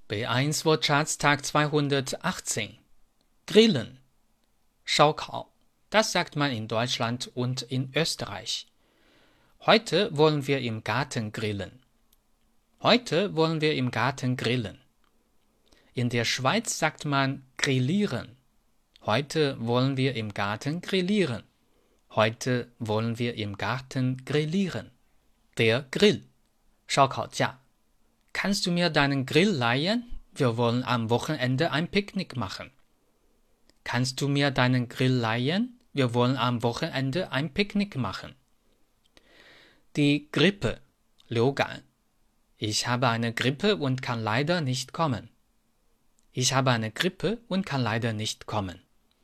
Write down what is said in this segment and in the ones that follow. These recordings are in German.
B1 Wortschatz Tag 218. Grillen. Schaukau. Das sagt man in Deutschland und in Österreich. Heute wollen wir im Garten grillen. Heute wollen wir im Garten grillen. In der Schweiz sagt man grillieren. Heute wollen wir im Garten grillieren. Heute wollen wir im Garten grillieren. Der Grill. 烧烤架. Kannst du mir deinen Grill leihen? Wir wollen am Wochenende ein Picknick machen. Kannst du mir deinen Grill leihen? Wir wollen am Wochenende ein Picknick machen. Die Grippe. 流感. Ich habe eine Grippe und kann leider nicht kommen. Ich habe eine Grippe und kann leider nicht kommen.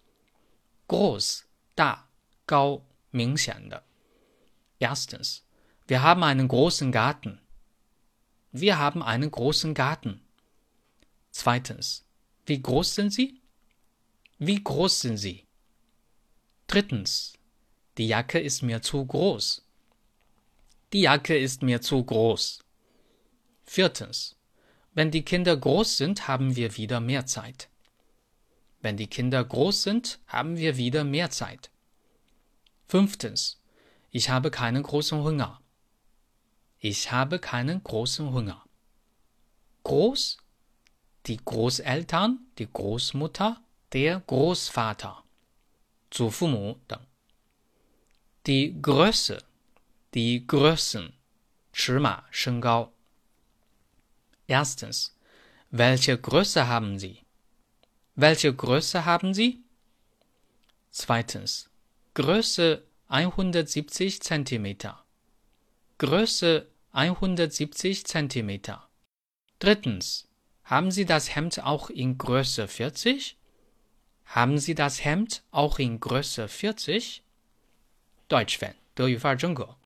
Groß, 大, 高, 明显的. Erstens. Wir haben einen großen Garten. Wir haben einen großen Garten. Zweitens. Wie groß sind Sie? Wie groß sind Sie? Drittens. Die Jacke ist mir zu groß. Die Jacke ist mir zu groß. Viertens. Wenn die Kinder groß sind, haben wir wieder mehr Zeit. Wenn die Kinder groß sind, haben wir wieder mehr Zeit. Fünftens. Ich habe keinen großen Hunger. Ich habe keinen großen Hunger. Groß, die Großeltern, die Großmutter, der Großvater, 祖父母等. Die Größe, die Größen, 尺码身高. Erstens. Welche Größe haben Sie? Welche Größe haben Sie? Zweitens. Größe 170 cm. Größe 170 cm. Drittens. Haben Sie das Hemd auch in Größe 40? Haben Sie das Hemd auch in Größe 40? Deutsch Fan, 德语范儿真格